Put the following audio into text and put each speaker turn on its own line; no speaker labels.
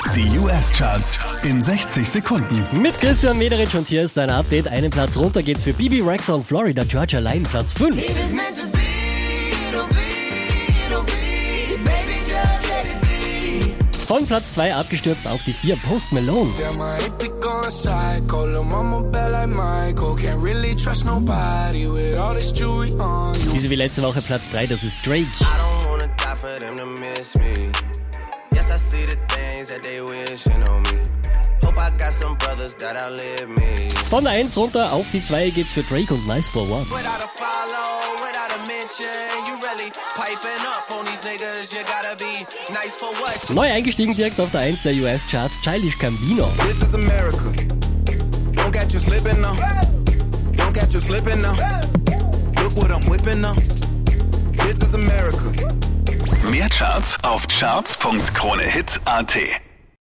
Die US-Charts in 60 Sekunden.
Mit Christian Mederitsch und hier ist dein Update. Einen Platz runter geht's für Bibi Rexha und Florida Georgia Line, Platz 5. Von Platz 2 abgestürzt auf die 4, Post Malone. Diese wie letzte Woche Platz 3, das ist Drake. Von der 1 runter auf die 2 geht's für Drake und Nice for What. Neu eingestiegen direkt auf der 1 der US-Charts, Childish Gambino.
Mehr Charts auf charts.kronehit.at.